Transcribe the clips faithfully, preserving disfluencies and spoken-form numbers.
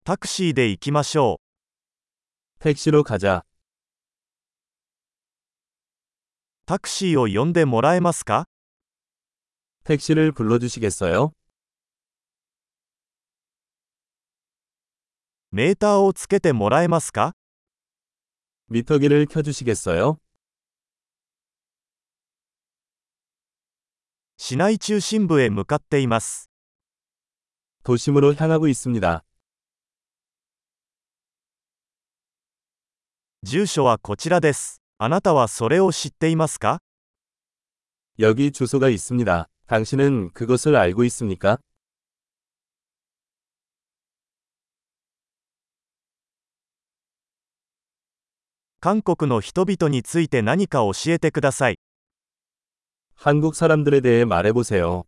タクシーで行きましょう。 택시로 가자. タクシーを呼んでもらえますか？ 택시를 불러주시겠어요? メーターをつけてもらえますか？ 미터기를 켜주시겠어요? 市内中心部へ向かっています。 도심으로 향하고 있습니다. 住所はこちらです。あなたはそれを知っていますか？ 여기 주소가 있습니다. 당신은 그것을 알고 있습니까? 韓国の人々について何か教えてください。 한국 사람들에 대해 말해보세요.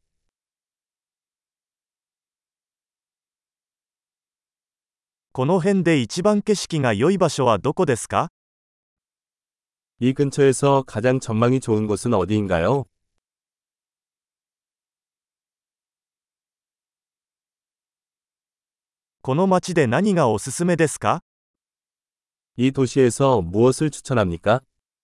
この辺で一番景色が良い場所はどこですか？ 이 근처에서 가장 전망이 좋은 곳은 어디인가요? この街で何がおすすめですか？ 이 도시에서 무엇을 추천합니까?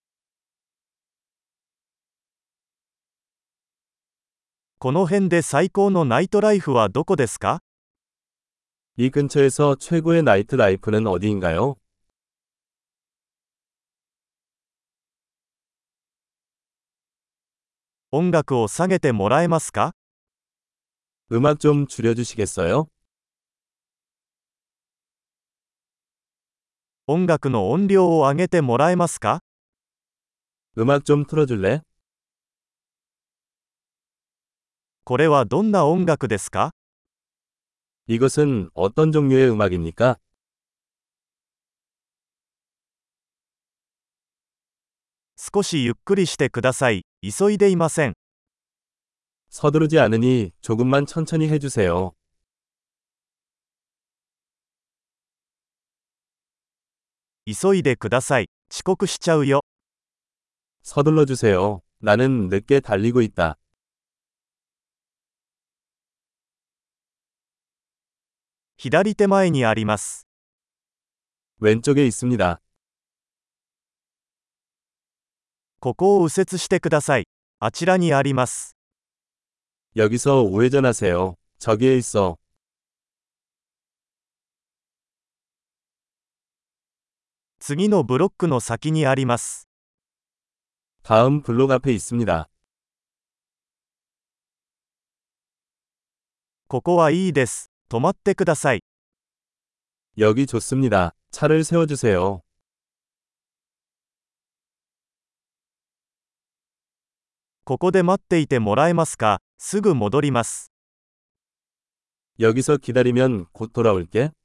この辺で最高のナイトライフはどこですか？ 이 근처에서 최고의 나이트 라이프는 어디인가요? 音楽を下げてもらえますか？ 음악 좀 줄여주시겠어요? 音楽の音量を上げてもらえますか？ 음악 좀 틀어줄래? これはどんな音楽ですか？ 이것은 어떤 종류의 음악입니까? 少しゆっくりしてください。急いでいません。 서두르지 않으니 조금만 천천히 해주세요. 急いでください。遅刻しちゃうよ。 서둘러 주세요. 나는 늦게 달리고 있다. 左手前にあります。 왼쪽에 있습니다. ここを右折してください。あちらにあります。 여기서 우회전하세요. 저기에 있어. 次のブロックの先にあります。 다음 블록 앞에 있습니다. ここはいいです。止まってください。 여기 좋습니다. 차를 세워주세요. ここで待っていてもらえますか？すぐ戻ります。 여기서 기다리면 곧 돌아올게.